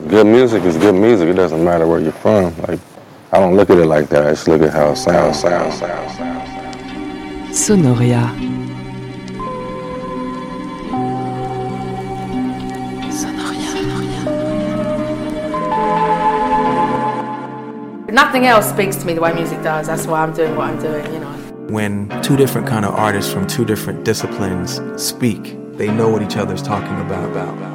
good music is good music. It doesn't matter where you're from. Like, I don't look at it like that. I just look at how it sounds. Sonoria. Nothing else speaks to me the way music does. That's why I'm doing what I'm doing, you know. When two different kind of artists from two different disciplines speak, they know what each other's talking about.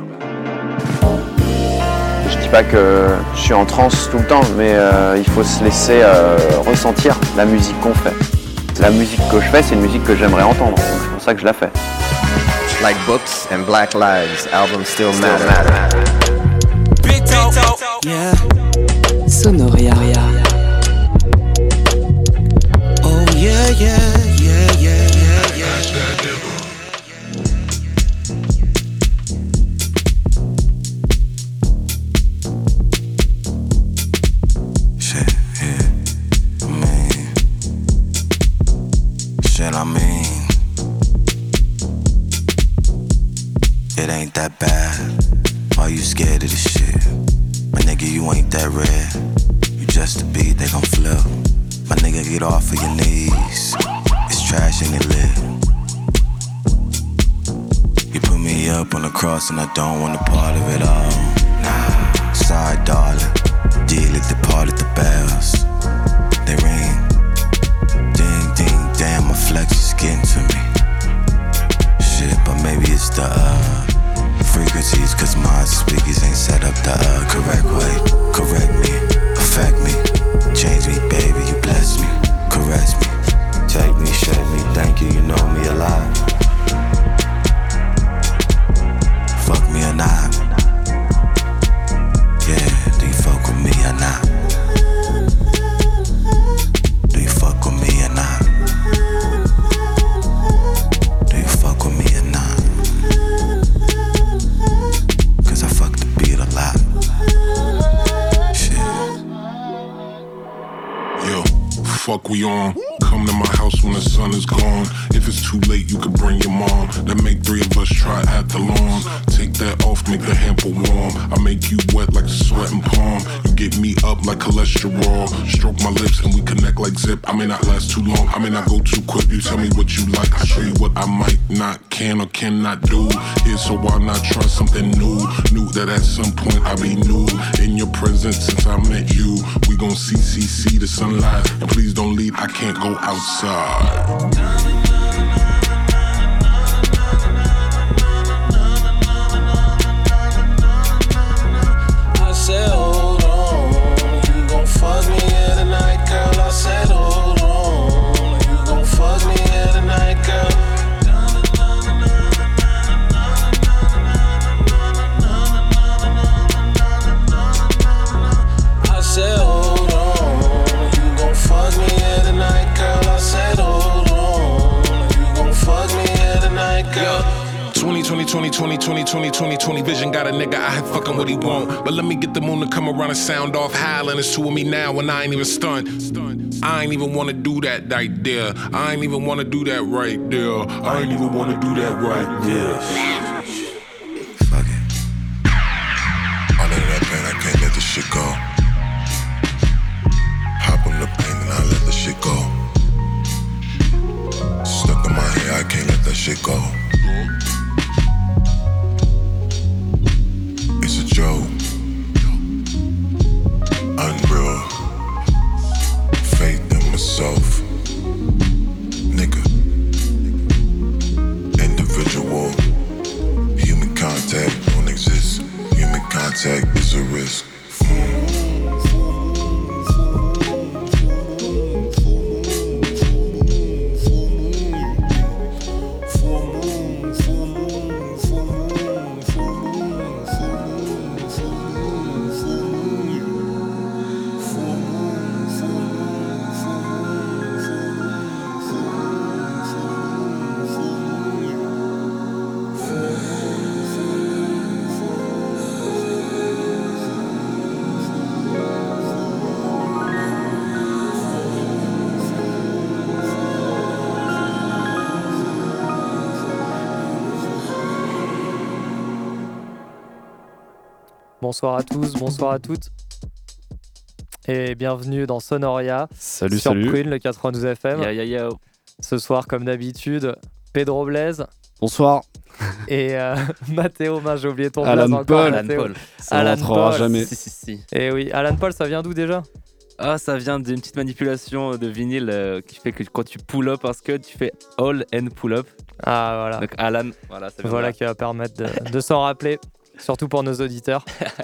Je dis pas que je suis en transe tout le temps, mais il faut se laisser ressentir la musique qu'on fait. La musique que je fais, c'est une musique que j'aimerais entendre, donc c'est pour ça que je la fais. Like books and black lives, albums still matter. Big talk. Yeah. Sonoria. Oh yeah. It ain't that bad. Why you scared of this shit? My nigga, you ain't that rare. You just a beat, they gon' flip. My nigga, get off of your knees. It's trash and it lit. You put me up on the cross and I don't want a part of it all. Nah, sorry, darling. Deal it, departed the bells. They ring. Ding, ding, damn, my flex is getting to me. Shit, but maybe it's the frequencies, cause my speakers ain't set up the correct way. Correct me, affect me, change me, baby, you bless me, caress me, take me, shake me, thank you, you know me a lot. Fuck me or not? Yeah, do you fuck with me or not? Do you fuck with me or not? Do you fuck with me or not? Cause I fuck the beat a lot. Shit. Yo, fuck we on. Come to my house when the sun is gone. If it's too late, you can bring your mom. Then make three of us try at the lawn. Take that off, make the hamper warm. I make you wet like a sweating palm. You get me up like cholesterol. Stroke my lips and we connect like zip. I may not last too long, I may not go too quick. You tell me what you like, I show you what I might not, can or cannot do. Here, so why not try something new? Knew that at some point I'd be new in your presence since I met you. We gon' see the sunlight. And please don't leave, I can't go outside. I said, hold on, you gon' fuck me here tonight, girl. I said, hold on, you gon' fuck me here tonight, girl. I said, hold on, you gon' fuck me here tonight, girl. I said, hold on, you gon' fuck me here tonight, girl. 20 vision got a nigga out here fucking what he want. But let me get the moon to come around and sound off howling. It's two of me now and I ain't even stunned. I ain't even wanna do that right there. I ain't even wanna do that right there. I ain't even wanna do that right there. Fuck it. All of that pain, I can't let this shit go. Hop on the pain and I let the shit go. Stuck in my head, I can't let that shit go. It's a joke. Unreal. Faith in myself. Nigga. Individual. Human contact don't exist. Human contact is a risk. Bonsoir à tous, bonsoir à toutes. Et bienvenue dans Sonoria. Salut, sur salut. Prune, le 92 FM. Yo. Ce soir, comme d'habitude, Pedro Blaise. Bonsoir. Et Mathéo, j'ai oublié ton Alan blaze encore. Paul. Mathéo. Alan Paul. Ça ne rentrera jamais. Si. Et oui, Alan Paul, ça vient d'où déjà ? Ah, ça vient d'une petite manipulation de vinyle qui fait que quand tu pull up un scud, tu fais all and pull up. Ah, voilà. Donc Alan, voilà, ça vient Voilà de là. qui va permettre de s'en rappeler, surtout pour nos auditeurs.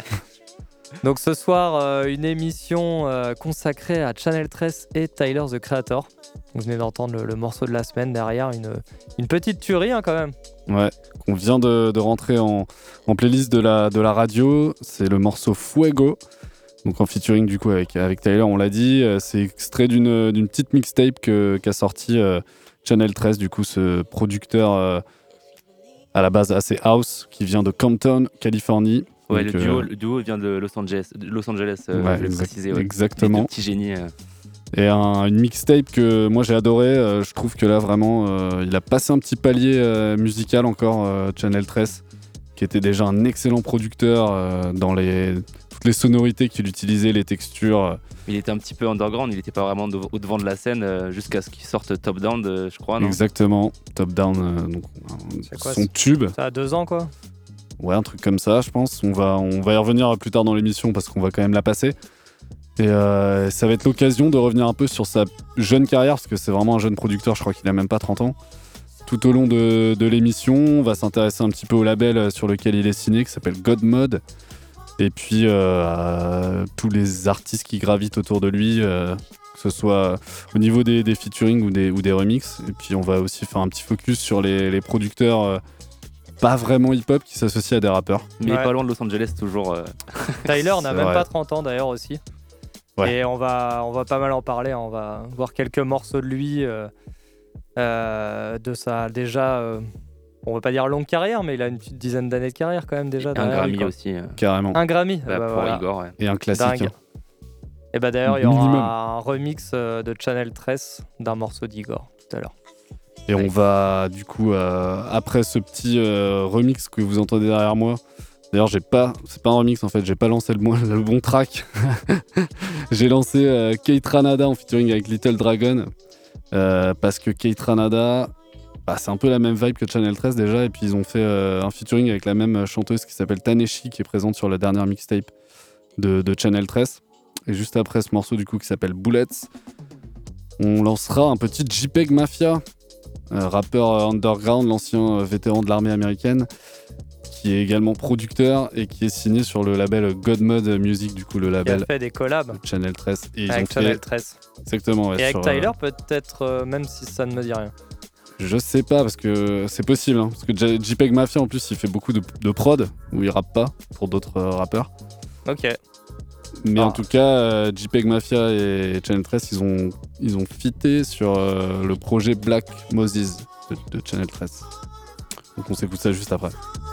Donc ce soir, une émission consacrée à Channel 13 et Tyler, the Creator. Vous venez d'entendre le morceau de la semaine derrière, une petite tuerie quand même. Ouais, qu'on vient de rentrer en playlist de la radio. C'est le morceau Fuego. Donc en featuring du coup avec Tyler, on l'a dit. C'est extrait d'une petite mixtape qu'a sorti Channel 13, du coup ce producteur à la base assez house qui vient de Compton, Californie. Ouais, donc, le duo vient de Los Angeles, je vais le préciser. Ouais. Exactement. Les deux petits génies. Et une mixtape que moi j'ai adoré. Je trouve que là vraiment, il a passé un petit palier musical encore, Channel 13, qui était déjà un excellent producteur dans toutes les sonorités qu'il utilisait, les textures. Il était un petit peu underground, il n'était pas vraiment au devant de la scène jusqu'à ce qu'il sorte Top Down, je crois, non ? Exactement, Top Down, donc quoi, son tube. Ça a 2 ans quoi. Ouais, un truc comme ça, je pense. On va y revenir plus tard dans l'émission parce qu'on va quand même la passer. Et ça va être l'occasion de revenir un peu sur sa jeune carrière, parce que c'est vraiment un jeune producteur, je crois qu'il a même pas 30 ans. Tout au long de l'émission, on va s'intéresser un petit peu au label sur lequel il est signé, qui s'appelle God Mode. Et puis à tous les artistes qui gravitent autour de lui, que ce soit au niveau des featuring ou des remixes. Et puis on va aussi faire un petit focus sur les producteurs pas vraiment hip-hop qui s'associent à des rappeurs. Mais il est pas loin de Los Angeles toujours. Tyler n'a même vrai. pas 30 ans d'ailleurs aussi. Ouais. Et on va pas mal en parler, on va voir quelques morceaux de lui, de sa déjà, on va pas dire longue carrière, mais il a une petite dizaine d'années de carrière quand même déjà. Un derrière Grammy lui, quoi. aussi. Carrément. Un Grammy Pour voilà. Igor, ouais. Et un classique. Dingue. Hein. Et bah d'ailleurs, il y Minimum. aura un remix de Channel 13 d'un morceau d'Igor tout à l'heure. Et on va du coup, après ce petit remix que vous entendez derrière moi, d'ailleurs c'est pas un remix en fait, j'ai pas lancé le bon track. J'ai lancé Kate Ranada en featuring avec Little Dragon, parce que Kate Ranada, c'est un peu la même vibe que Channel 13 déjà, et puis ils ont fait un featuring avec la même chanteuse qui s'appelle Taneshi, qui est présente sur la dernière mixtape de Channel 13. Et juste après ce morceau du coup qui s'appelle Bullets, on lancera un petit JPEG Mafia, rappeur underground, l'ancien vétéran de l'armée américaine, qui est également producteur et qui est signé sur le label God Mode Music, du coup le Il label a fait des collabs de Channel 13. Et ils avec ont Channel fait... 13. Exactement, ouais, Et avec sur, Tyler peut-être, même si ça ne me dit rien. Je sais pas, parce que c'est possible, hein, parce que JPEG Mafia en plus il fait beaucoup de prod, où il rappe pas pour d'autres rappeurs. Ok. Mais en tout cas, JPEG Mafia et Channel 13, ils ont fité sur le projet Black Moses de Channel 13. Donc on s'écoute ça juste après.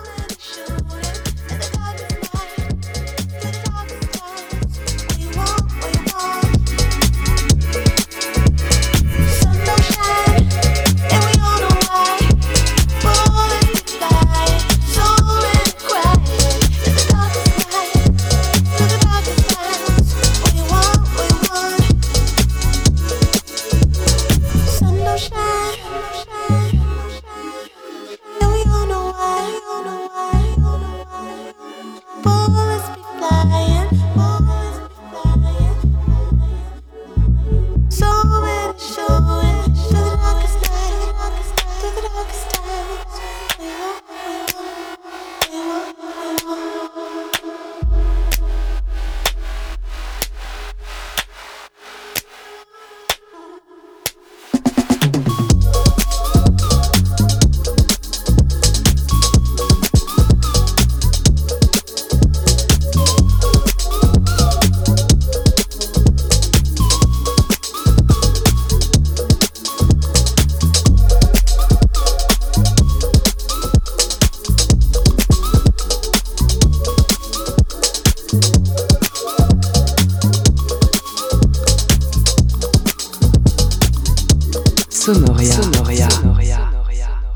Sonoria.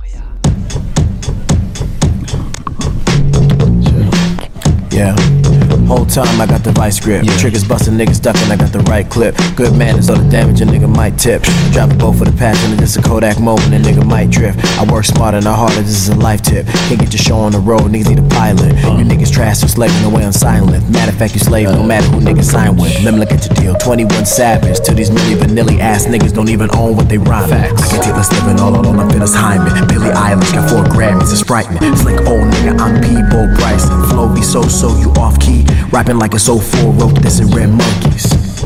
Yeah. time, I got the vice grip. Triggers busting, niggas ducking, I got the right clip. Good manners, all the damage a nigga might tip. Drop a bow for the passion, and this a Kodak moment, a nigga might drift. I work smarter, not harder, this is a life tip. Can't get your show on the road, niggas need a pilot. You niggas trash, so slaving away on silent. Matter of fact, you slave, no matter who niggas sign with. Let me look at your deal, 21 Savage. To these Milli Vanilli ass niggas don't even own what they rhyme. Facts. I can take this living all alone, I'm Dennis Hyman. Billie Eilish got 4 Grammys, it's frightening. Slick old nigga, I'm P-Bo Bryson. Flow be so you off key. Rapping like it's 04, wrote this in Red Monkeys.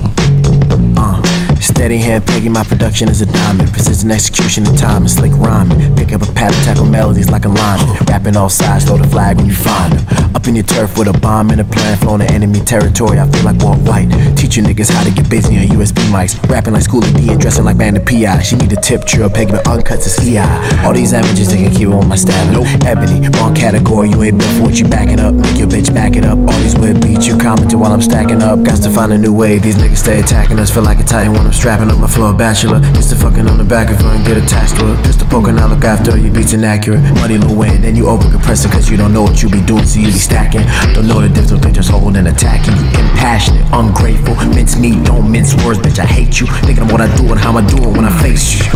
Steady hand pegging, my production is a diamond. Precision execution and time and slick rhyming. Pick up a pattern, tackle melodies like a lineman. Rapping all sides, throw the flag when you find them. Up in your turf with a bomb and a plan, flown to enemy territory, I feel like Walt White. Teach you niggas how to get busy on USB mics. Rapping like Schoolie D and dressing like Bandit P.I. She need a tip, drill, pegging uncuts is EI. All these images, they can keep on my stamina. Ebony, wrong category, you ain't built for what you backing up. Make your bitch back it up. All these weird beats, you commenting while I'm stacking up. Got to find a new way, these niggas stay attacking us. Feel like a titan when I'm strapping up my floor bachelor. Used to fucking on the back of her and get attached to it. Just to poke and I look after your beats inaccurate. Muddy little way, then you over compress it cause you don't know what you be doing, so you be stacking. Don't know the difference between just holding and attacking. You impassionate, ungrateful, mince meat, don't mince words, bitch, I hate you. Thinking of what I do and how I do it when I face you.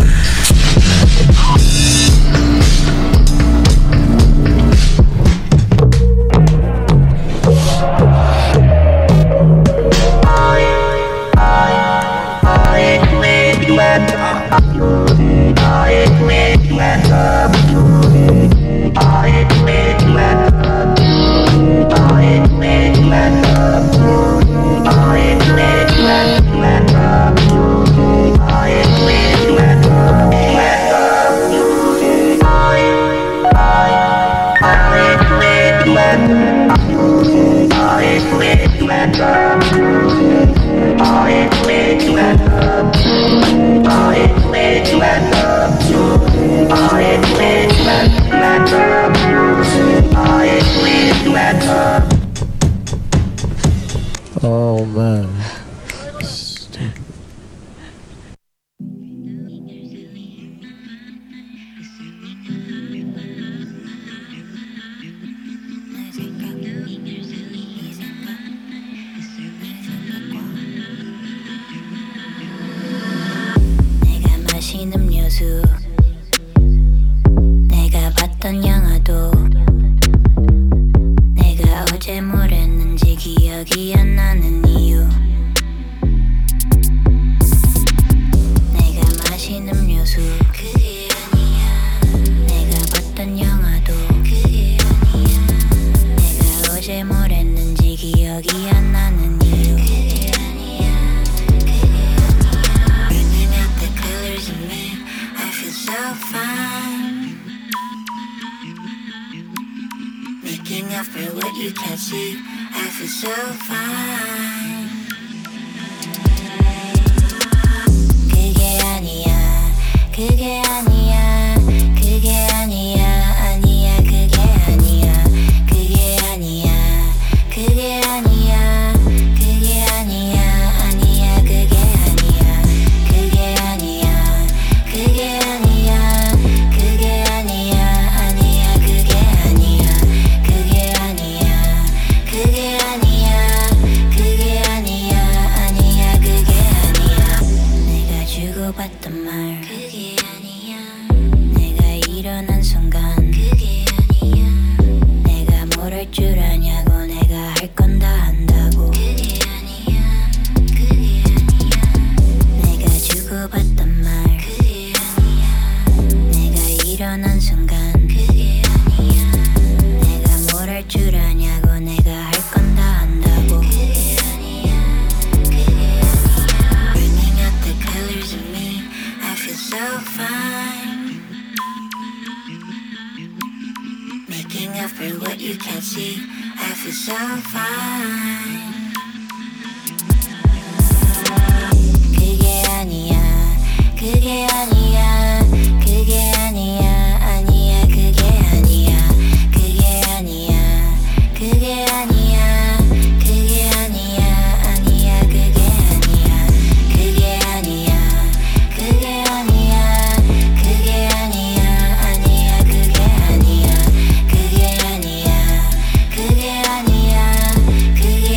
Oh man. 내가 마신 음료수, 내가 봤던 영화도, 내가 어제 뭘 했는지 기억이 안 나는 이유. 내가 마신 음료수, 그게 아니야. 내가 봤던 영화도, 그게 아니야. 내가 어제 뭘 했는지 기억이 안 나는 이유. 그게 아니야. 그게 아니야. Burning out the colors of me, I feel so fine. Making up for what you can't see, I feel so fine. 그게 아니야, 그게 아니야, 그게 아니야, 아니야, 그게 아니야, 그게 아니야, 그게 아니야, 그게 아니야, 아니야, 그게 아니야, 그게 아니야, 그게 아니야, 그게 아니야, 아니야, 그게 아니야, 그게 아니야, 그게 아니야, 그게 아니야, 아니야, 그게 아니야. 내가 주고받던 말, 그게 아니야. 내가 일어난 순간, 그게 아니야. 내가 뭘 할 줄 아냐고, 내가 할 건 다 한다고, 그게 아니야. 그게 아니야. 내가 주고받던 말, 그게 아니야. 내가 일어난 순간, 그게 아니야. 내가 뭘 할 줄 아냐고, 내가 할 건 다 한다고, 그게 아니야. 그게 아니야. Bringing out the colors of me, I feel so fine. Making up for what you can't see, I feel so fine. 그게 아니야, 그게 아니야, 그게 아니야, 아니야, 그게 아니야, 그게 아니야, 그게 아니야, 그게 아니야, 아니야, 그게 아니야, 그게 아니야, 그게 아니야, 그게 아니야, 아니야, 그게 아니야, 그게 아니야, 그게 아니야, 그게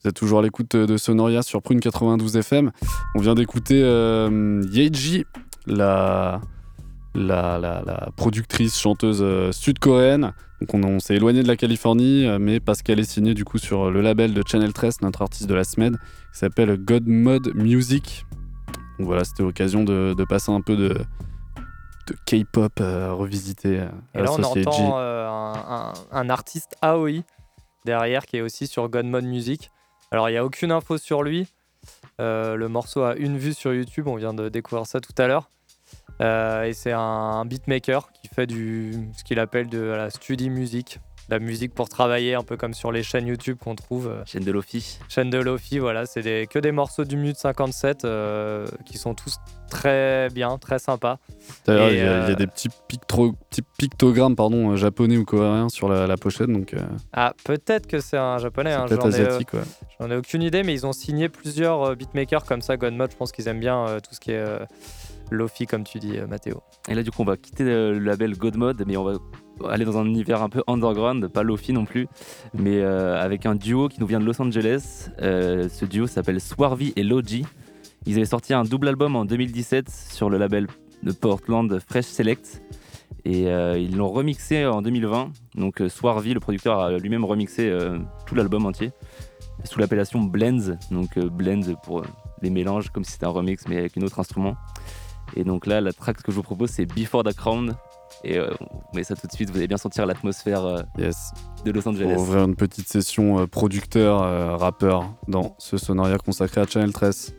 Vous êtes toujours à l'écoute de Sonoria sur Prune 92 FM. On vient d'écouter Yeji, la productrice, chanteuse sud-coréenne. Donc on s'est éloigné de la Californie, mais parce qu'elle est signée du coup sur le label de Channel 13, notre artiste de la semaine, qui s'appelle God Mode Music. Donc voilà, c'était l'occasion de passer un peu de K-pop revisité. Et là, on entend un artiste Aoi derrière qui est aussi sur God Mode Music. Alors, il n'y a aucune info sur lui. Le morceau a une vue sur YouTube. On vient de découvrir ça tout à l'heure. Et c'est un beatmaker qui fait ce qu'il appelle de la study music. La musique pour travailler, un peu comme sur les chaînes YouTube qu'on trouve. Chaîne de Lofi. Chaîne de Lofi, voilà. C'est que des morceaux du minute 57 qui sont tous très bien, très sympas. D'ailleurs, il y a des petits pictogrammes japonais ou coréens sur la pochette. Donc, Ah, peut-être que c'est un japonais. C'est peut-être asiatique, ouais. J'en ai aucune idée, mais ils ont signé plusieurs beatmakers comme ça. Godmode, je pense qu'ils aiment bien tout ce qui est Lofi, comme tu dis, Mathéo. Et là, du coup, on va quitter le label Godmode, mais on va aller dans un univers un peu underground, pas Lofi non plus, mais avec un duo qui nous vient de Los Angeles. Ce duo s'appelle Swarvy et Logi. Ils avaient sorti un double album en 2017 sur le label de Portland Fresh Select et ils l'ont remixé en 2020. Donc Swarvy, le producteur, a lui-même remixé tout l'album entier sous l'appellation Blends. Donc Blends pour les mélanges, comme si c'était un remix mais avec un autre instrument. Et donc là, la track que je vous propose, c'est Before the Crown. Et on met ça tout de suite, vous allez bien sentir l'atmosphère de Los Angeles. On va ouvrir une petite session producteur, rappeur dans ce Sonoria consacré à Channel 13.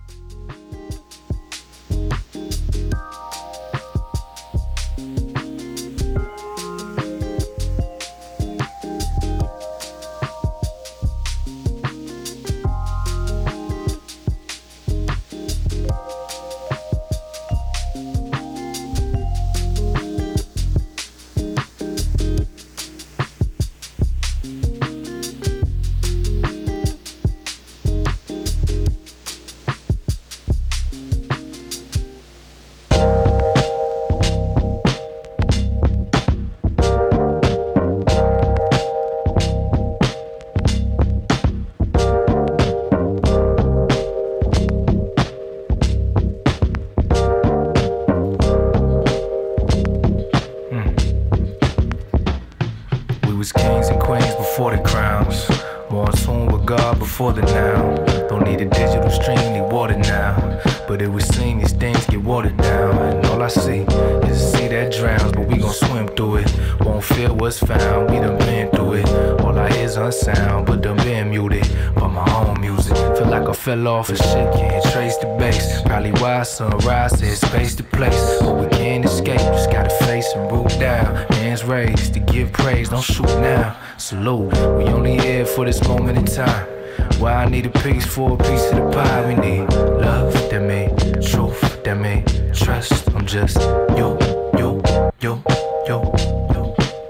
For the now, don't need a digital stream, need water now. But it would seem these things get watered down. And all I see is a sea that drowns, but we gon' swim through it. Won't feel what's found, we done been through it. All I hear's unsound, but done been muted by my own music. Feel like I fell off and shit, can't trace the base. Probably why sunrise says space to place. But we can't escape, just gotta face and root down. Hands raised to give praise, don't shoot now. Salute, we only here for this moment in time. Why I need a piece for a piece of the pie. We need love that made truth that made trust. I'm just yo, yo, yo, yo, yo.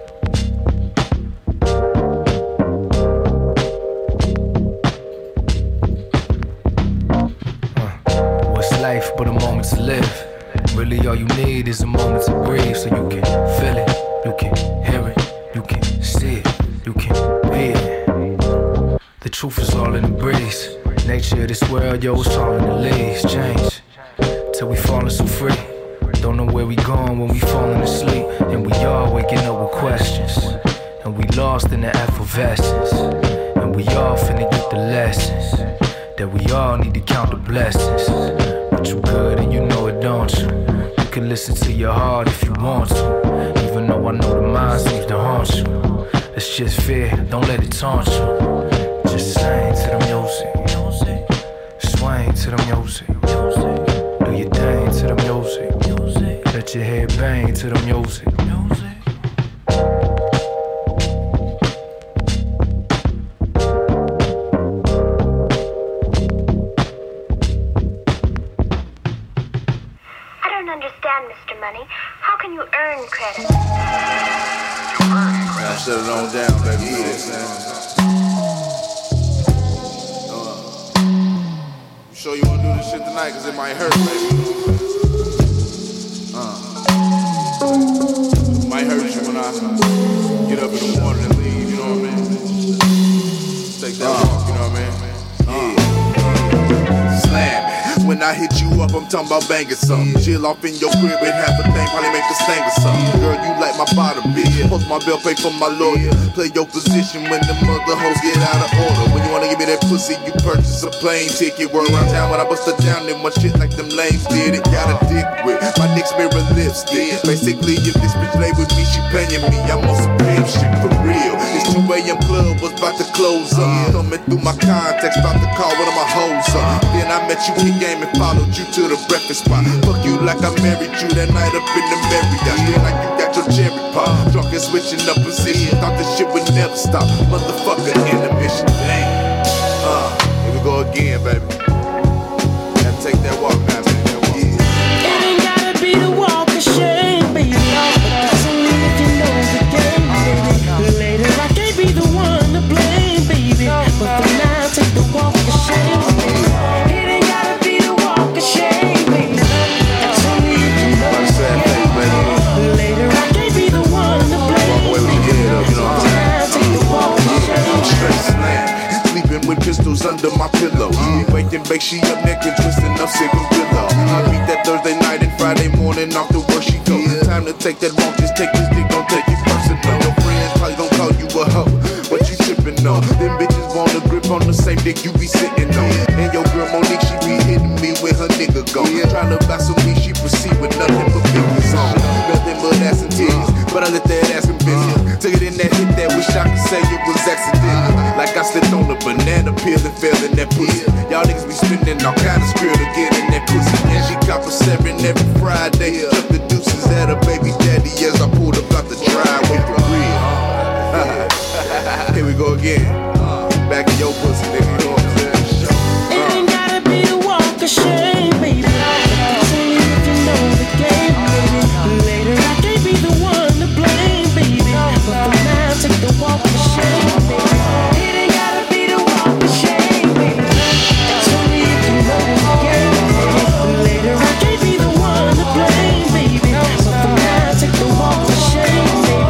What's life but a moment to live? Really all you need is a moment to breathe. So you can feel it, you can hear it, you can see it, you can be it. The truth is all in the breeze. Nature of this world, yo, it's all in the leaves. Change, till we falling so free. Don't know where we going when we falling asleep. And we all waking up with questions. And we lost in the effervescence. And we all finna get the lessons. That we all need to count the blessings. But you good and you know it, don't you? You can listen to your heart if you want to. Even though I know the mind seems to haunt you. It's just fear, don't let it taunt you. Just swing to the music, swing to the music, do your thing to the music, let your head bang to the music. I don't understand, Mr. Money. How can you earn credit? I shut it on down, baby. You know what I'm saying? Sure you wanna do this shit tonight, cause it might hurt, baby. It might hurt you when I get up in the morning and leave, you know what I mean? Take that walk, you know what I mean? I hit you up, I'm talking about banging something. Chill off in your crib and half a thing, probably make a sting or something. Girl, you like my bottom, bitch. Post my bill, pay for my lawyer. Play your position when the mother hoes get out of order. When you wanna give me that pussy, you purchase a plane ticket. Word around town when I bust her down in my shit like them lames did it. Got a dick with my Nick's mirror lipstick. Basically, if this bitch lay with me, she paying me. I'm on some pimp shit for real. It's 2 a.m. club was about to close up. Coming through my contacts, about to call one of my hoes up. Then I met you in game and followed you to the breakfast spot. Fuck you like I married you that night up in the Marriott. Feel like you got your cherry pop. Drunk and switching up position. Thought this shit would never stop. Motherfucker, intermission. Damn. Here we go again, baby. Gotta take that walk now, baby. It ain't gotta be the walk of shame, baby. That's only if you know the game, baby. Later I can't be the one to blame, baby. But for now, take the walk of shame, baby. It ain't gotta be the walk of shame, baby. That's only if you know the game, baby. Later I can't be the one to blame, baby. But for now, take the walk of shame. I'm straight slam. Sleeping with pistols under my pillow. Wake and bake, she up naked, twisting up cigarillo. I beat that Thursday night and Friday morning off to work she go. Time to take that walk, just take this dick, don't take it personal. Your friends probably gon' call you a hoe. What you trippin' on? Them bitches want a grip on the same dick you be sitting on. And your girl Monique, she be hitting me with her nigga gone. Tryna buy some weed, she proceed with nothing but fingers on. Nothing but ass and titties, but I let that ass and business. Took it in that hit that wish I could say it was accidental. Like I slipped on a banana peel and fell in that pussy. Y'all niggas be spending all kind of skill to get in that pussy. And she cop a 7 every Friday. Took the deuces at her baby daddy as I pulled up out the driveway for real. Here we go again. Back in your pussy, nigga. You know what I'm saying? It ain't gotta be the walk of shame, baby. That's only if you know the game, baby. Later I can't be the one to blame, baby. But for now, take the walk of shame, baby. It ain't gotta be the walk of shame, baby. That's only if you know the game, baby. Later I can't be the one to blame, baby. But for now, take the walk of shame, baby.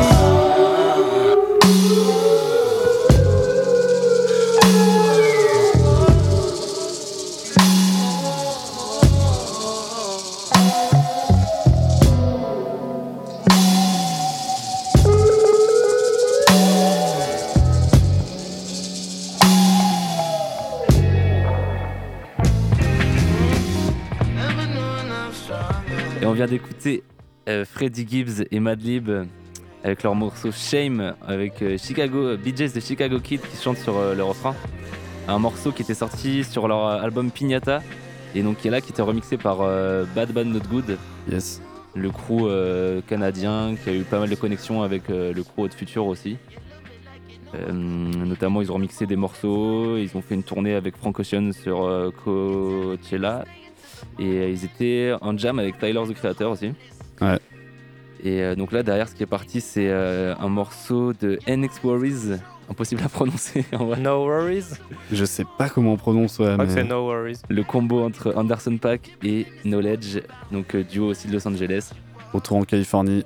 Et on vient d'écouter Freddie Gibbs et Madlib avec leur morceau Shame avec Chicago, BJ's de Chicago Kid qui chantent sur le refrain. Un morceau qui était sorti sur leur album Piñata et donc qui est là, qui était remixé par Bad Bad Not Good. Yes. Le crew canadien qui a eu pas mal de connexions avec le crew Hot Future aussi. Notamment ils ont remixé des morceaux, ils ont fait une tournée avec Frank Ocean sur Coachella et ils étaient en jam avec Tyler the Creator aussi. Ouais. Et donc là derrière ce qui est parti c'est un morceau de NX Worries, impossible à prononcer en vrai. No Worries. Je sais pas comment on prononce, ouais, Je crois mais... que c'est No Worries. Le combo entre Anderson .Paak et Knowledge, donc duo aussi de Los Angeles. Retour en Californie.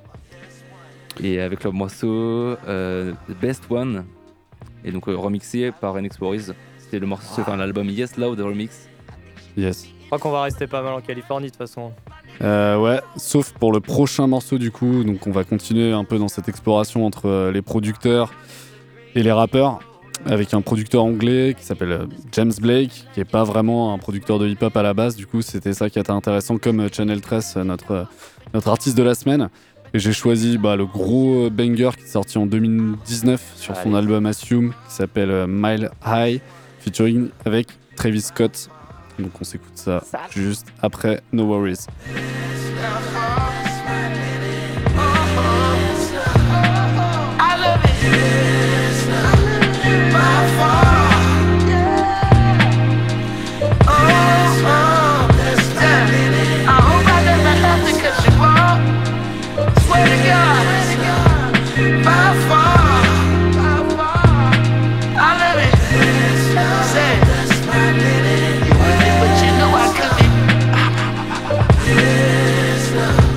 Et avec leur morceau The Best One, et donc remixé par NX Worries. C'était le morceau, enfin l'album Yes Loud Remix. Yes. Je crois qu'on va rester pas mal en Californie de toute façon. Ouais, sauf pour le prochain morceau du coup. Donc on va continuer un peu dans cette exploration entre les producteurs et les rappeurs, avec un producteur anglais qui s'appelle James Blake, qui est pas vraiment un producteur de hip-hop à la base. Du coup, c'était ça qui était intéressant, comme Channel 13, notre artiste de la semaine. Et j'ai choisi le gros banger qui est sorti en 2019 sur son album Assume, qui s'appelle Mile High, featuring avec Travis Scott. Donc on s'écoute ça juste après No Worries. But you know I could be.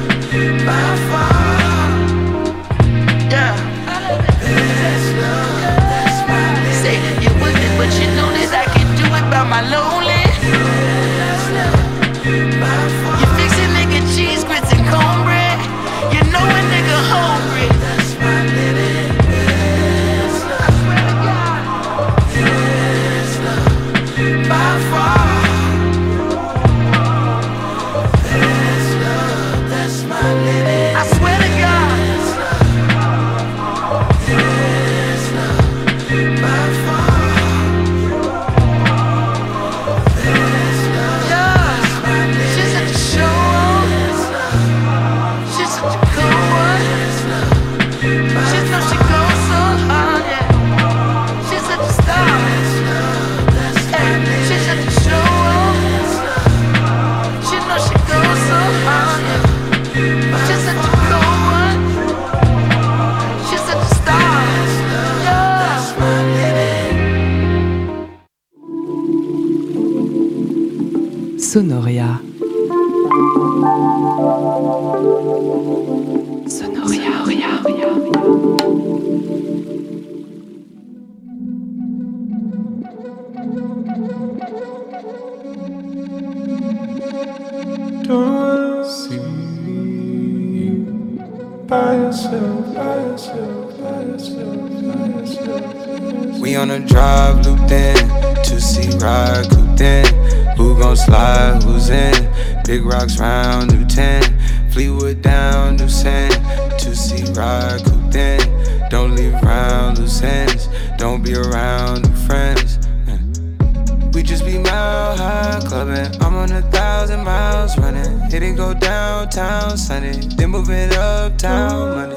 Sonoria. Don't see you by yourself, by yourself, by yourself, by yourself. We on a drive, looped in, 2C ride, cooped in. Who gon' slide, who's in? Big rocks round, new 10. Fleetwood down, new sand. 2C ride, cooped in. Don't leave around loose ends. Don't be around new friends. We just be mile high clubbing. I'm on 1,000 miles running. Hit it, go downtown Sunday. Then move it uptown Monday.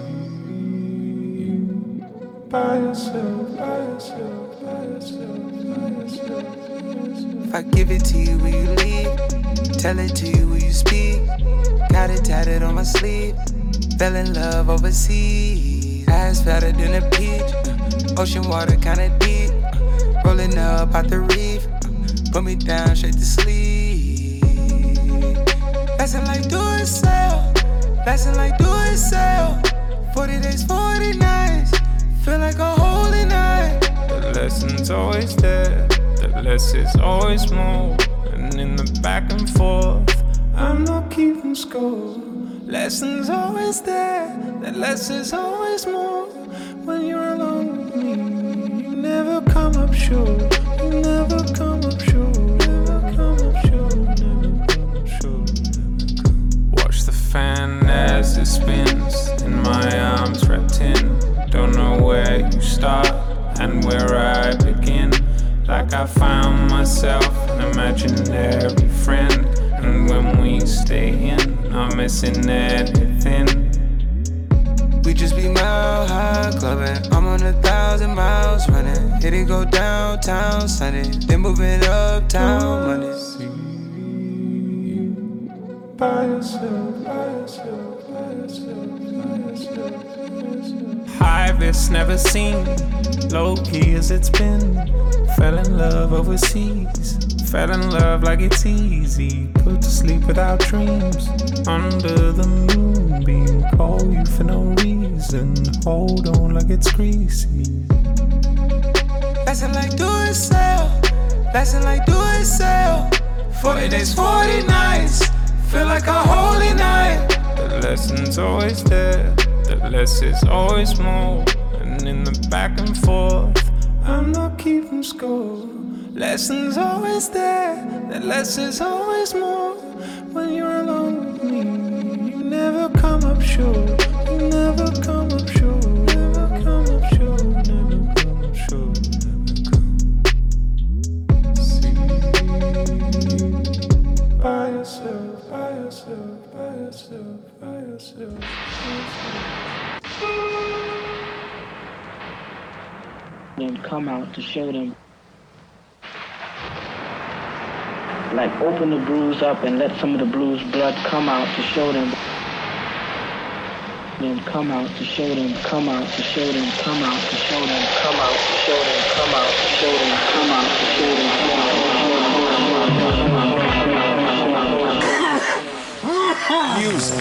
By yourself, by yourself, by yourself, by yourself. If I give it to you, will you leave? Tell it to you, will you speak? Got it tatted on my sleeve. Fell in love overseas. Ass fatter than a peach. Ocean water kinda deep. Rolling up out the reef. Put me down straight to sleep. Lesson like do it sell. Lesson like do it sell. 40 days, 40 nights. Feel like a holy night. The lesson's always there. The less is always more. And in the back and forth, I'm not keeping score. Lesson's always there. The less is always more. When you're alone with me, you never come up short. You never come up short. Never come up short. Never come up short. Watch the fan as it spins. In my arms wrapped in. Don't know where you start and where I begin. Like I found myself an imaginary friend. And when we stay in, not missing anything. We just be mile high clubbing. I'm on 1,000 miles running. Hit it, go downtown Sunday. Then move it uptown Monday. By yourself, by yourself, by yourself, by yourself. High risk never seen, low key as it's been. Fell in love overseas, fell in love like it's easy. Put to sleep without dreams, under the moonbeam. Call you for no reason, hold on like it's greasy. Lesson like do it sell, lesson like do it sell. 40 days, 40 nights, feel like a holy night. The lesson's always there. The less is always more. And in the back and forth, I'm not keeping score. Lessons always there. The less is always more. When you're alone with me, you never come up short. You never come up short. Never come up short. Never come up short. See you by yourself, by yourself, by yourself, by yourself. Then come out to show them. Like open the bruise up and let some of the blues blood come out to show them. Then come out to show them, come out to show them, come out to show them, come out to show them, come out to show them, come out to show them, Music.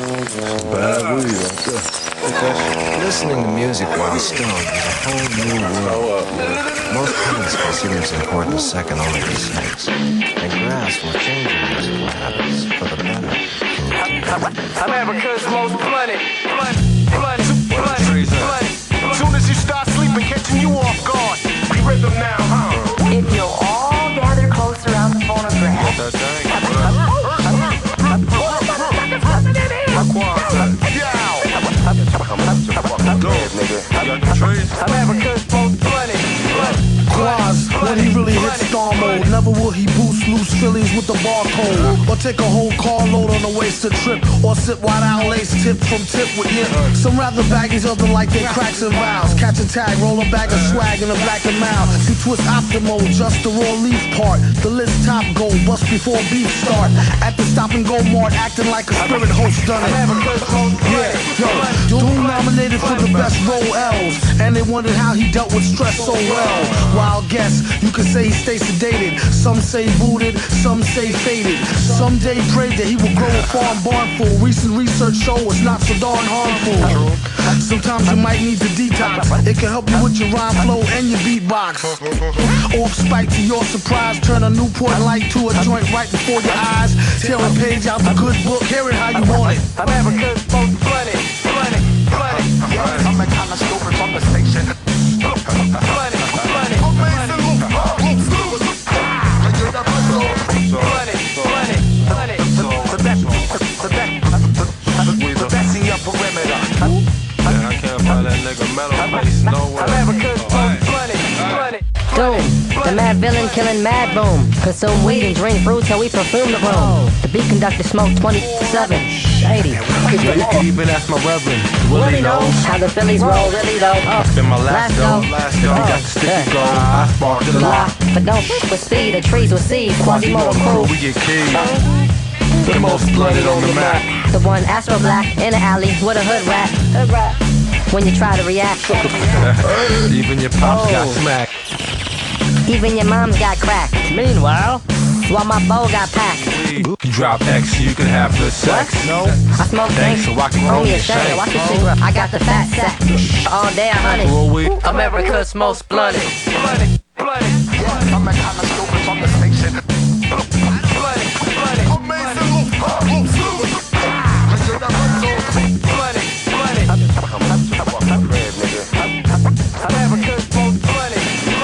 Listening to music while stoned is a whole new world. Most parents consider it important second only to sex, and grasp will change your musical habits for the better. America's most blunted. Soon as you start sleeping, catching you off guard. We rhythm now, huh? If you'll all gather close around the phonograph. America's most blunted. Quaz, when he really hits star mode, never will he boost loose Phillies with the barcode, or take a whole carload on a wasted trip, or sit wide out lace tip from tip with nip. Some rather baggies, other like they cracks and vows. Catch a tag, roll a bag of swag in a black and mild. You twist after mode, just the raw leaf part. The list top gold, bust before beef start. At the stop and go mart, acting like a spirit host done it. Yeah, yo, Doom nominated for the best role L's, and they wondered how he dealt with stress so well. Wild guess, you could say he stay sedated. Some say booted, some say faded. Someday pray that he will grow a farm barn full. Recent research show it's not so darn harmful. Sometimes you might need to detox. It can help you with your rhyme flow and your beatbox. Off spike to your surprise, turn a Newport light to a joint right before your eyes. Tear a page out the good book, hear it how you want it. America's most bloody. I'm the kind of stupid from the station. Bloody. The best in your perimeter. Yeah, I can't find that nigga metal bass nowhere. America's most bloody. Doom, the mad villain killing mad boom. Consume weed and drink fruit till we perfume the room. The beat conductor smoke 27, 80. Even ask my reverend. Willie knows how the Phillies roll really though. It's been my last go. You got the sticky gold. I sparked the lot. But don't f with speed, the trees with seed. Quasimodo crew. We get keyed. The most blooded on the map. The one Astro Black in the alley with a hood rat. When you try to react. Even your pops got smacked. Even your mom's got cracked. Meanwhile, while my bow got packed. You drop X, you can have the sex. No, I smoke thanks, drinks. so I can Throw roll me a your shame. shame. Watch the cigarette. I got the fat sack. All day I hunt it. America's most bloody. Bloody. I'm the kind of stupid from the station. Bloody. Amazing America's most bloody.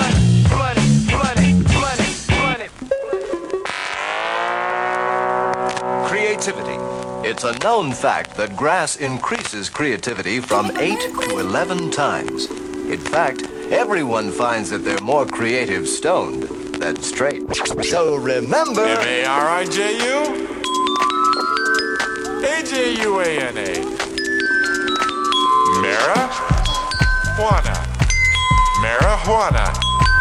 Creativity. It's a known fact that grass increases creativity from 8 to 11 times. In fact, everyone finds that they're more creative stoned than straight. So remember... M-A-R-I-J-U A-J-U-A-N-A Marijuana.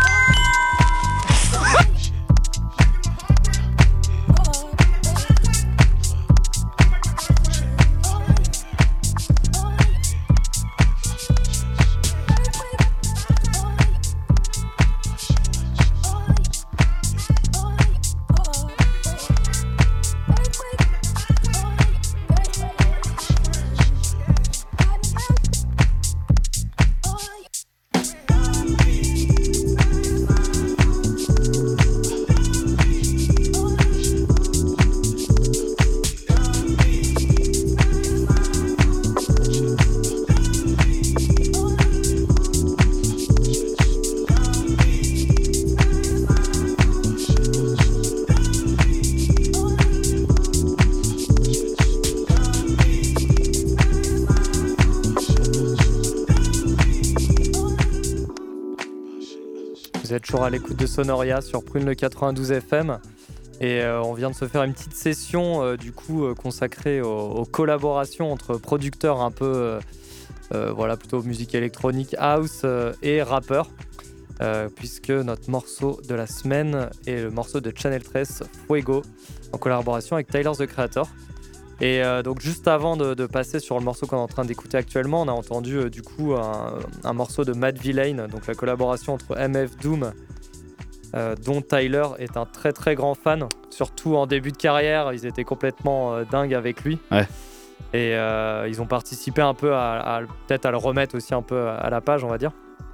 Vous êtes toujours à l'écoute de Sonoria sur Prune le 92 FM et on vient de se faire une petite session consacrée aux collaborations entre producteurs un peu plutôt musique électronique, house et rappeurs puisque notre morceau de la semaine est le morceau de Channel 13 Fuego en collaboration avec Tyler the Creator. Et donc juste avant de passer sur le morceau qu'on est en train d'écouter actuellement, on a entendu un morceau de Mad Villain, donc la collaboration entre MF Doom, dont Tyler est un très très grand fan, surtout en début de carrière, ils étaient complètement dingues avec lui. Ouais. Et ils ont participé un peu peut-être à le remettre aussi un peu à la page, on va dire.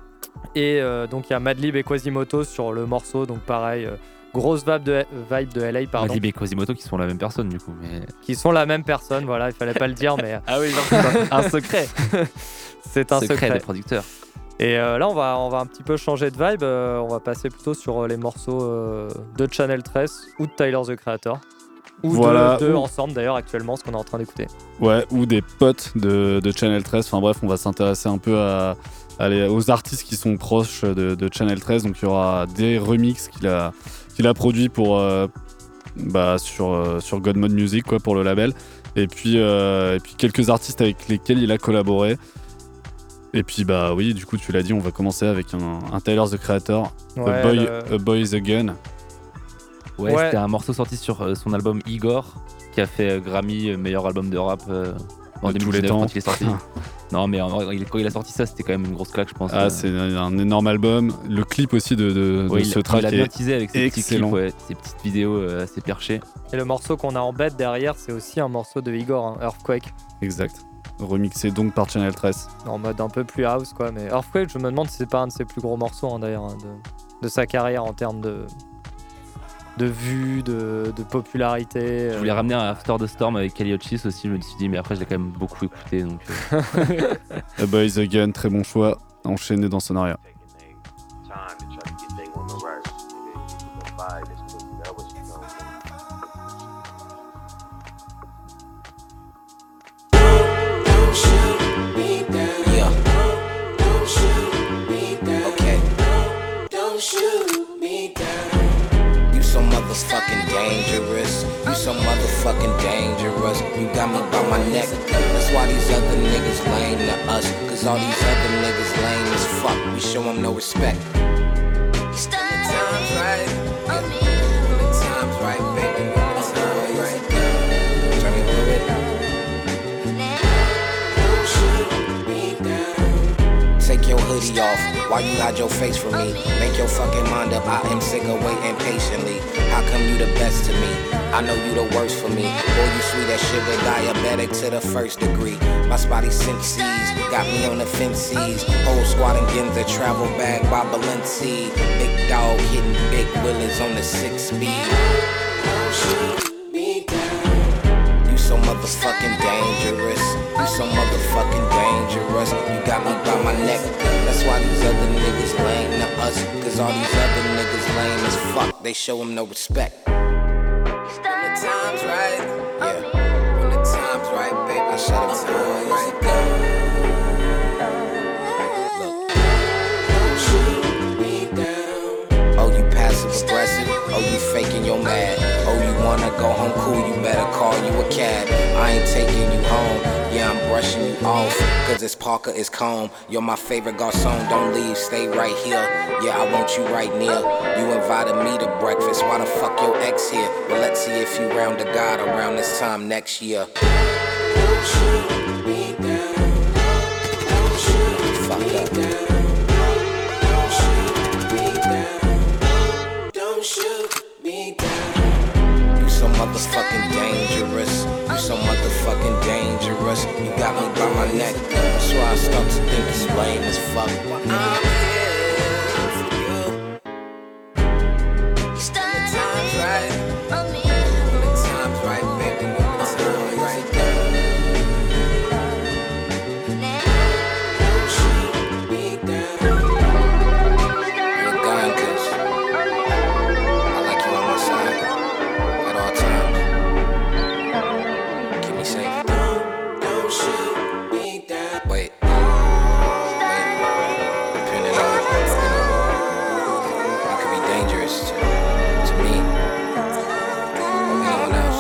Et donc il y a Madlib et Quasimoto sur le morceau, donc pareil. Grosse vibe de LA, pardon. Madlib et Quasimoto qui sont la même personne du coup. Mais... Qui sont la même personne, voilà, il fallait pas le dire, mais... Ah oui, c'est un secret. C'est un secret des producteurs. Et là, on va un petit peu changer de vibe. On va passer plutôt sur les morceaux de Channel 13 ou de Tyler the Creator. Ou deux ensemble d'ailleurs actuellement, ce qu'on est en train d'écouter. Ouais, ou des potes de Channel 13. Enfin bref, on va s'intéresser un peu aux artistes qui sont proches de Channel 13. Donc il y aura des remixes qu'il a produit sur God Mode Music quoi, pour le label et puis quelques artistes avec lesquels il a collaboré et puis oui du coup tu l'as dit, on va commencer avec un Tyler the Creator, ouais, A Boy is a Gun. Ouais, c'était un morceau sorti sur son album Igor qui a fait Grammy meilleur album de rap en 2019 quand il est sorti. Non, mais quand il a sorti ça, c'était quand même une grosse claque, je pense. Ah, c'est un énorme album. Le clip aussi de ce track il a bien est teasé avec ses petits clips, excellent. ses petites vidéos assez perchées. Et le morceau qu'on a en bête derrière, c'est aussi un morceau de Igor, hein, Earthquake. Exact. Remixé donc par Channel 13. En mode un peu plus house, quoi. Mais Earthquake, je me demande si c'est pas un de ses plus gros morceaux, hein, d'ailleurs, hein, de sa carrière en termes de vues, de popularité. Je voulais ramener un After the Storm avec Kali Uchis aussi, je me suis dit, mais après, je l'ai quand même beaucoup écouté. Donc, A Boys Again, très bon choix. Enchaîné dans Sonaria. So motherfucking dangerous. You so motherfucking dangerous. You got me by my neck. That's why these other niggas lame to us. Cause all these other niggas lame as fuck. We show them no respect. When the time's right, yeah. When the time's right, baby. When the time's right, turn it through it. Don't shoot me down. Take your hoodie off. Why you hide your face from me? Make your fucking mind up. I am sick of waiting patiently. How come you the best to me? I know you the worst for me. Boy, you sweet as sugar, diabetic to the first degree. My spotty senses got me on the fences. Whole squad and Ginza travel bag by Balenci. Big dog hitting big willies on the 6-speed. Shoot me down. You so motherfucking dangerous. You so motherfucking dangerous. You got me by my neck. That's why these other niggas lame to us. Cause all these other niggas lame as fuck. They show them no respect. When the time's right, yeah. When the time's right, baby, I shut up time right there. Look, don't shoot me down. Oh, you passive aggressive. Oh, you faking your mad. Oh, you wanna go home cool, you better call you a cab. I ain't taking you home. Yeah, I'm brushing you off, cause it's Parker, it's calm. You're my favorite garçon, don't leave, stay right here. Yeah, I want you right near. You invited me to breakfast, why the fuck your ex here? Well, let's see if you round to God around this time next year. Don't shoot me down. Don't shoot me fucked up. Don't shoot me down. Don't shoot me down. You so motherfucking dangerous. You so motherfucking dangerous. You got me by my neck. That's why I start to think it's lame as fuck. I'm here for you. When the time's right, when the time's right, baby, when the time's right, don't shoot me down. You're gone, cause I like you on my side at all times. Keep me safe. Don't shoot me down. Wait. Depending on, you could be dangerous to me or anyone else.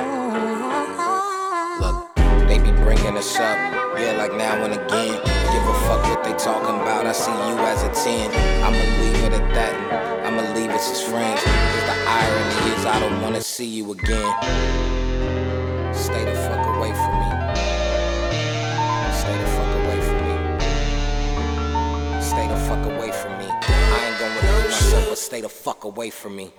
Look, they be bringing us up, yeah, like now and again. Give a fuck what they talking about. I see you as a 10. I'ma leave it at that. And I'ma leave us as friends. Cause the irony is I don't wanna see you again. Stay the fuck away from me. Stay the fuck away from me. Stay the fuck away from me. I ain't gonna repeat myself, but stay the fuck away from me.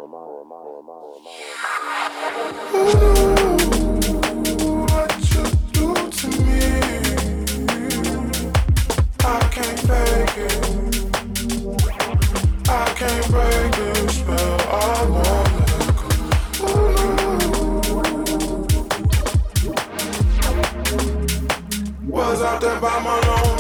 Was out there by my own.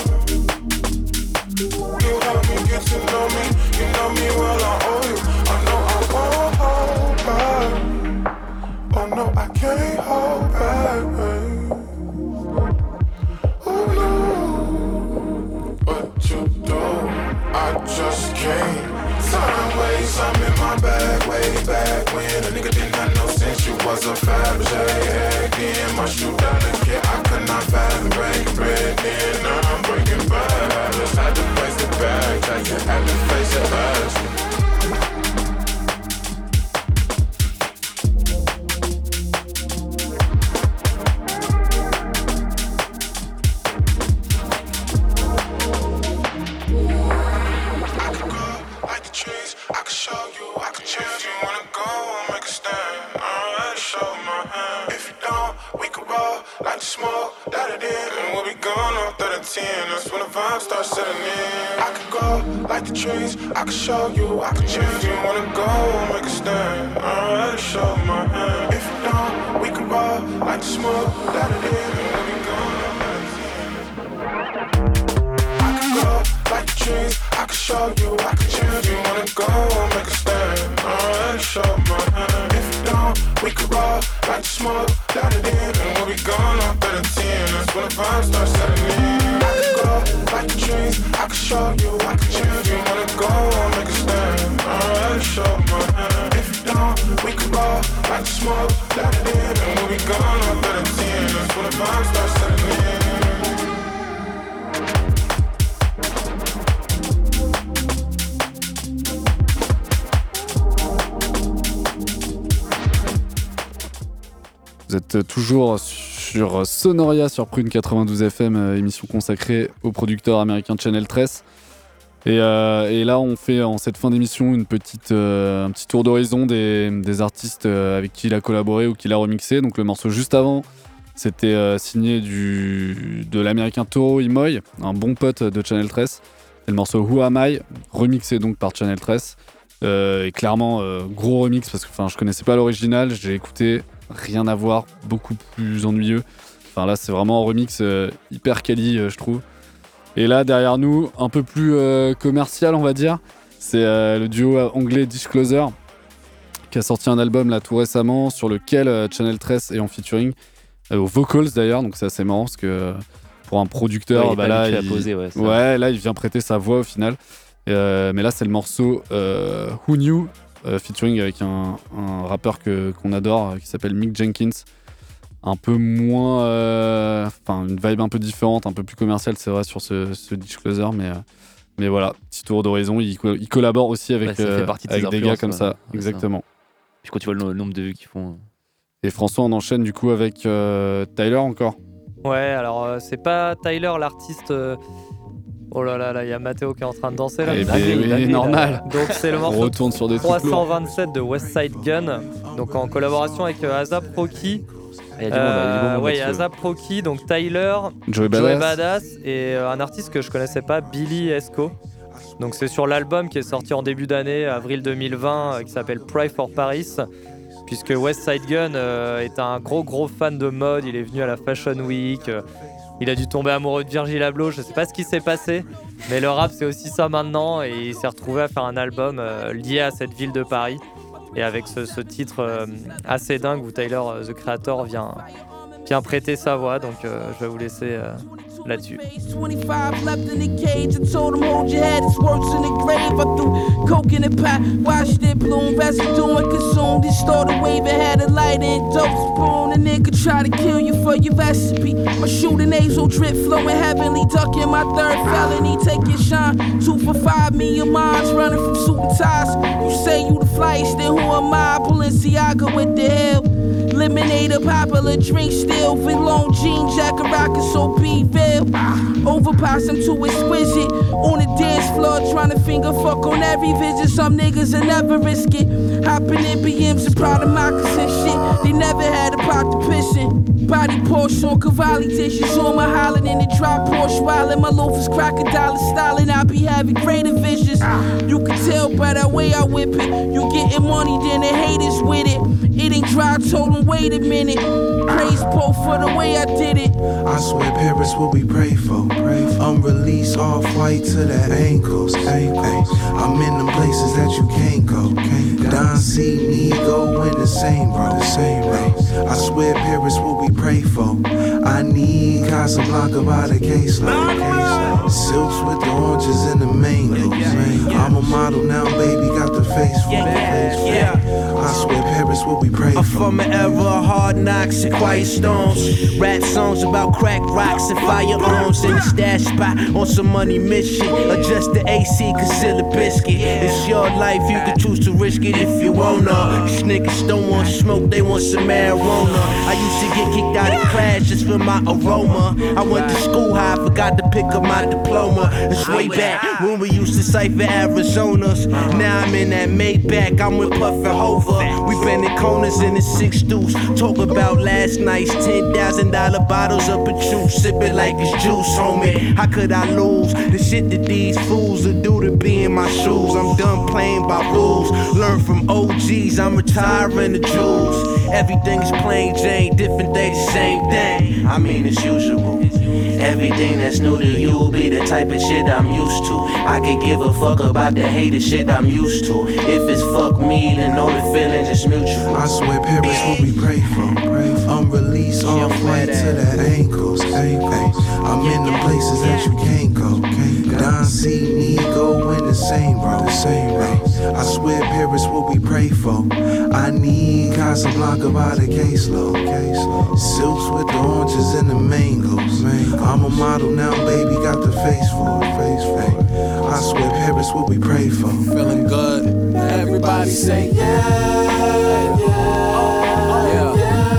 You helped me get to know me. You know me well, I owe you. I know I won't hold back. Oh no, I can't hold back, babe. Oh no, what you do, I just can't. Time ways, I'm in my bag way back when a nigga didn't have no sense. You was a Fabergé head then. My shoe down the kid, I could not fathom break bread then. Now I'm breaking bad. Just had to face the bag, had to face it last. That's when the vibe starts setting in. I could go like the trees, I could show you, I could change. You wanna go, make a stand. I already showed my hand. If you don't, we could roll like the smoke, let it in, and we'll be gone by the 10. I could go like the trees, I could show you, I could change. You wanna go, make a stand. I already showed my hand. If you don't, we could roll like the smoke, let it in, and we'll be gone by the 10. That's when the vibe starts setting in. Like the trees, I can show you, I can change. You wanna go or make a stand. I already showed my hand. If you don't, we can roll like the smoke, let it in, and we'll be gone up at a 10. That's when the vibe starts setting in. Vous êtes toujours sur Sonoria sur Prune 92 FM, émission consacrée au producteur américain Channel 13. Et là, on fait en cette fin d'émission un petit tour d'horizon des artistes avec qui il a collaboré ou qu'il a remixé. Donc le morceau juste avant, c'était signé de l'américain Toro y Moi, un bon pote de Channel 13. Et le morceau Who Am I, remixé donc par Channel 13. Et clairement, gros remix parce que je connaissais pas l'original, j'ai écouté. Rien à voir, beaucoup plus ennuyeux. Enfin là, c'est vraiment un remix hyper quali, je trouve. Et là, derrière nous, un peu plus commercial, on va dire, c'est le duo anglais Disclosure qui a sorti un album là tout récemment sur lequel Channel 13 est en featuring aux vocals d'ailleurs. Donc c'est assez marrant parce que pour un producteur, là, il vient prêter sa voix au final. Mais là, c'est le morceau Who Knew. Featuring avec un rappeur qu'on adore qui s'appelle Mick Jenkins, un peu moins une vibe un peu différente, un peu plus commerciale, c'est vrai, sur ce Disclosure, mais voilà, petit tour d'horizon. Il collabore aussi avec des gars comme ça, exactement. Puis quand tu vois le nombre de vues qu'ils font. Et François, on enchaîne du coup avec Tyler encore. Ouais, alors c'est pas Tyler l'artiste. Oh là là, il y a Mathéo qui est en train de danser là. Oui, normal. Donc c'est le morceau tourne sur des 327 de Westside Gun, donc en collaboration avec A$AP Rocky. Il y a A$AP Rocky, donc Tyler, Joey Badass et un artiste que je connaissais pas, Billy Esco. Donc c'est sur l'album qui est sorti en début d'année, avril 2020, qui s'appelle Pry for Paris. Puisque Westside Gun est un gros fan de mode, il est venu à la Fashion Week. Il a dû tomber amoureux de Virgil Abloh, je sais pas ce qui s'est passé, mais le rap c'est aussi ça maintenant et il s'est retrouvé à faire un album lié à cette ville de Paris et avec ce titre assez dingue où Tyler, the Creator, vient prêter sa voix, donc je vais vous laisser là-dessus. 25 left in the cage. I told him, hold your head, it's worse in the grave. I threw coke in the pot, watched it bloom, residue and consumed. It started waving, had a light and dope spoon. A nigga try to kill you for your recipe. My shooting nasal drip flowing heavenly, ducking my third felony. Take your shine, 2 for 5, me and mine's running from suit and ties. You say you the flyest, then who am I? Balenciaga with the hell. Lemonade, a popular drink, still with long jean jacket rockin', so be real. Overpass, I'm too exquisite. On the dance floor, tryna finger fuck on every visit. Some niggas will never risk it. Hopping in BMs and proud of moccasin shit. They never had a pot to piss in. Body Porsche on Cavalli dishes. On my hollin' in the drop Porsche wildin'. My loafers crocodile stylin'. I be having greater visions. You can tell by the way I whip it. You getting money, then the haters with it. It ain't dry, told them wait a minute. Praise Pope for the way I did it. I swear Paris what we pray for. Unreleased off-white to the ankles. Ay. I'm in them places that you can't go. Don C, me go in the same, bro. Ay. I swear Paris what we pray for. I need Casablanca by the caseload. Silks with the oranges and the mangoes. I'm a model now, baby, got the face for it. I swear Paris what we pray for. I'm from an era of hard knocks and quiet storms. Rap songs about crack rocks and firearms in the stash spot on some money mission. Adjust the AC, conceal the biscuit. It's your life, you can choose to risk it if you wanna. These niggas don't want smoke, they want some marijuana. I used to get kicked out of class just for my aroma. I went to school high, forgot to pick up my diploma. It's way back when we used to cipher Arizonas. Now I'm in that Maybach, I'm with Puff and Hova. We been in corners in the 6 deuce. Talk about last night's $10,000 bottles of Patchouli. Sip it like it's juice, homie. How could I lose the shit that these fools will do to be in my shoes? I'm done playing by rules. Learn from OGs, I'm retiring the jewels. Everything's plain Jane, different day, the same thing. I mean, it's usual. Everything that's new to you be the type of shit I'm used to. I could give a fuck about the hated shit I'm used to. If it's fuck me, then know the feeling is mutual. I swear Paris what we pray for. Unreleased off-white to the ankles. Ay. I'm in the places that you can't go. Don C, me go in the same, bro. Ay. I swear Paris what we pray for. I need Casablanca by the caseload. Silks with the oranges and the mangoes. I'm a model now, baby, got the face for it. I swear Paris what we pray for. Feeling good. Everybody say yeah, yeah.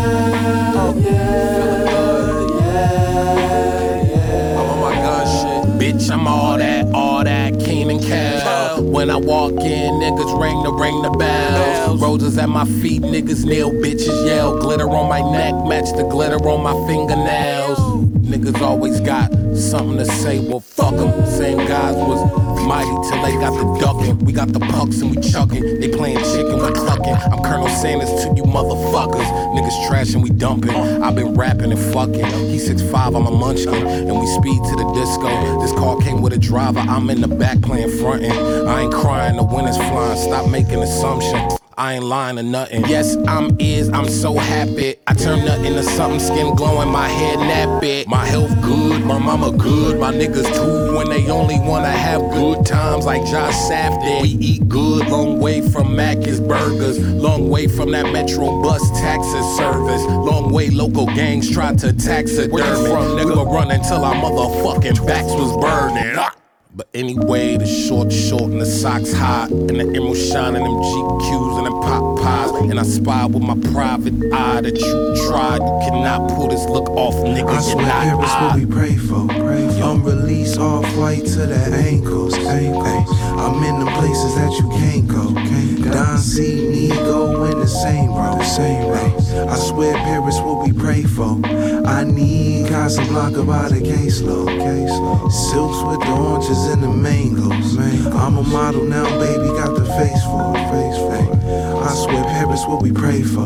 I'm on my gun shit. Bitch, I'm all that, Keen and Kel. When I walk in, niggas ring the bells. Roses at my feet, niggas kneel, bitches yell. Glitter on my neck, match the glitter on my fingernails. Niggas always got something to say, well fuck them. Same guys was mighty till they got the ducking. We got the pucks and we chucking. They playing chicken, we clucking. I'm Colonel Sanders to you motherfuckers. Niggas trash and we dumping. I've been rapping and fucking. He's 6'5", I'm a munchkin. And we speed to the disco. This car came with a driver, I'm in the back playing frontin'. I ain't crying, the wind is flying, stop making assumptions. I ain't lying or nothing. Yes, I'm so happy. I turn nothing into something, skin glowing, my head nappy. My health good, my mama good, my niggas too. When they only wanna have good times like Josh Safdie. We eat good, long way from Mac's Burgers. Long way from that Metro bus taxi service. Long way local gangs tried to taxidermy. Where you from, nigga? We were running till our motherfucking backs was burning. But anyway, the short and the socks hot, and the emerald shining, them GQs and them pop pies. And I spy with my private eye that you tried. You cannot pull this look off, nigga. I swear Paris what we pray for. Unreleased off-white to the ankles. Ay. I'm in them places that you can't go. Don C, me go in the same, bro. Ay. I swear Paris what we pray for. I need Casablanca by the caseload. Silks with the oranges and the mangoes. I'm a model now, baby, got the face for it. I swear Paris what we pray for.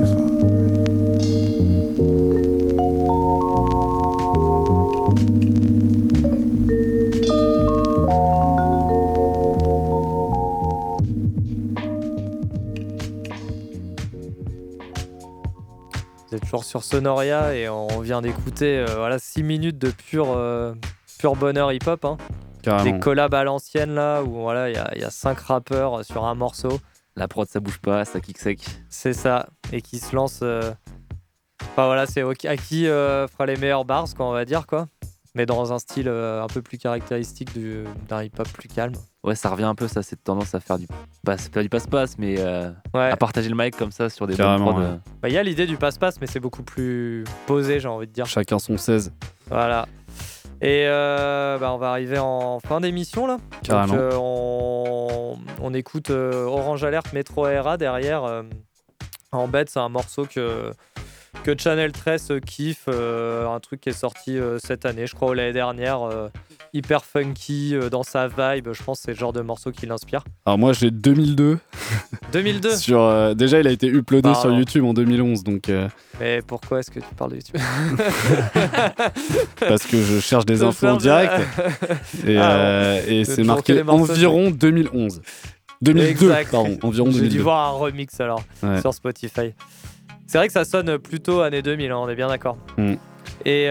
Vous êtes toujours sur Sonoria et on vient d'écouter 6 minutes de pur bonheur hip-hop. Hein. Des collabs à l'ancienne là où il y a 5 rappeurs sur un morceau. La prod ça bouge pas, ça kick sec. C'est ça, et qui se lance. C'est à qui fera les meilleurs bars, quoi, on va dire quoi. Mais dans un style un peu plus caractéristique d'un hip-hop plus calme. Ouais, ça revient un peu, ça, cette tendance à faire du passe-passe, mais à partager le mic comme ça sur des bonnes prods. Il y a l'idée du passe-passe, mais c'est beaucoup plus posé, j'ai envie de dire. Chacun son 16. Voilà. Et on va arriver en fin d'émission là. Carrément. Donc, on écoute Orange Alert Metro ARA derrière. En bête, c'est un morceau que Channel 13 kiffe, un truc qui est sorti cette année, je crois, ou l'année dernière, hyper funky, dans sa vibe. Je pense que c'est le genre de morceau qui l'inspire. Alors moi j'ai 2002. 2002 déjà il a été uploadé sur YouTube en 2011 donc. Mais pourquoi est-ce que tu parles de YouTube? Parce que je cherche des infos en direct et c'est marqué environ 2011. 2002 exact. Pardon, environ 2002. J'ai dû voir un remix alors sur Spotify. C'est vrai que ça sonne plutôt années 2000, hein, on est bien d'accord. Et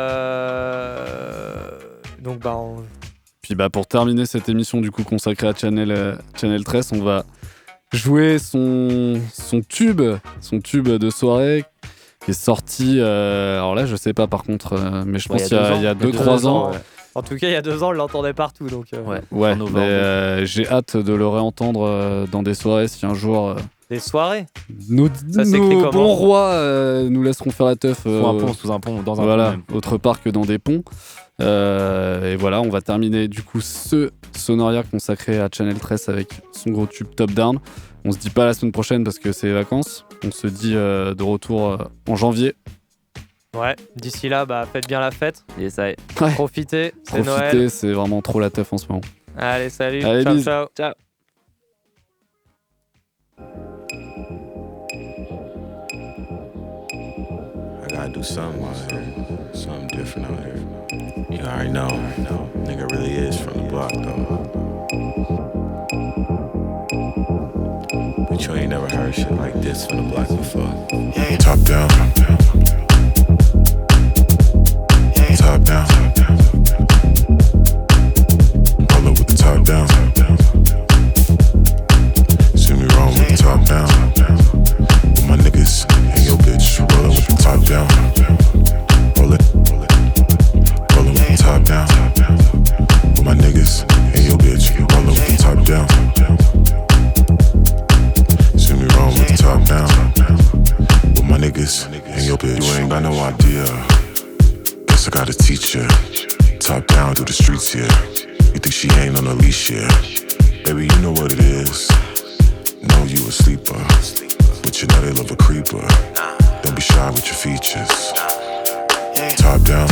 donc Puis pour terminer cette émission du coup consacrée à Channel 13, on va jouer son tube de soirée qui est sorti. Alors là, je sais pas par contre, mais je pense qu'il y a 2-3 ans. En tout cas, il y a 2 ans, on l'entendait partout. Donc, ouais, mais j'ai hâte de le réentendre dans des soirées si un jour. Des soirées. Nos bons rois nous laisseront faire la teuf. Sous un pont, dans un voilà, pont. Même. Autre part que dans des ponts. Et voilà, on va terminer du coup ce Sonoria consacré à Channel 13 avec son gros tube Top Down. On se dit pas la semaine prochaine parce que c'est les vacances. On se dit de retour en janvier. Ouais, d'ici là, faites bien la fête. Yes, ouais. Profitez, c'est Noël. Profitez, c'est vraiment trop la teuf en ce moment. Allez, salut. Allez, ciao, bis. ciao. Ciao. I gotta do something out here, something different out here. You already know, nigga really is from the block though. But you ain't never heard shit like this from the block before. Yeah, top down, top down. Roll up with the top down. See me wrong with the top down. With my niggas and your bitch, roll up with the top down. Roll it with the top down. With my niggas and your bitch, roll up with the top down. See me wrong with the top down. With my niggas and your bitch. You ain't got no idea. Guess I gotta teach ya. Top down through the streets here. You think she ain't on a leash here? Baby, you know what it is. Know you a sleeper, but you know they love a creeper. Don't be shy with your features. Top down.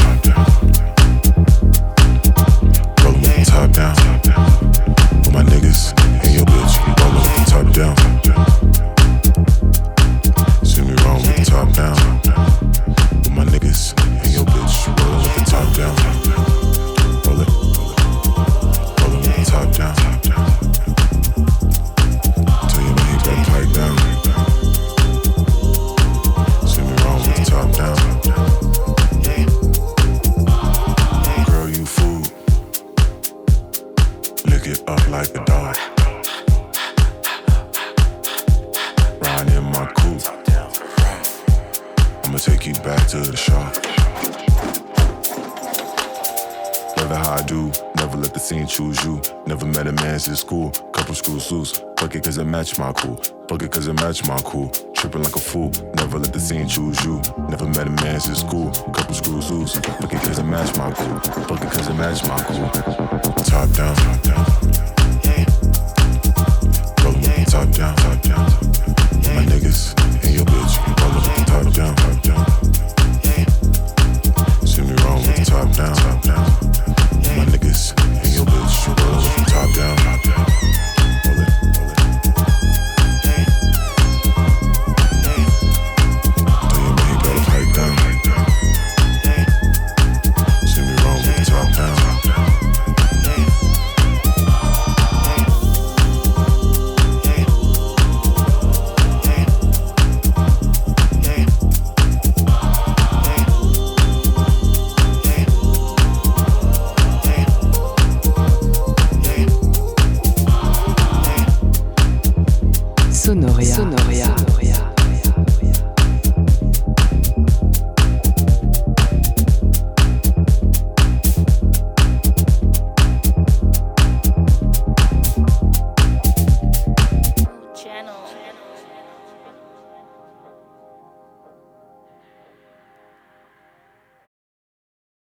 Rollin' with the top down. With my niggas and your bitch. Rollin' with the top down. See me wrong with the top down. With my niggas and your bitch. Rollin' with the top down. Roll it. Rollin' with the top down. Tell you when he got pipe down. See me wrong with the top down. Girl, you fool. Lick it up like a dog. Riding in my coupe. I'ma take you back to the shop. Never how I do, never let the scene choose you. Never met a man since school, couple screws loose. Fuck it cause it match my cool, fuck it cause it match my cool. Tripping like a fool, never let the scene choose you. Never met a man since school, couple screws loose. Fuck it cause it match my cool, fuck it cause it match my cool. Top down, rollin' with the top down, top down.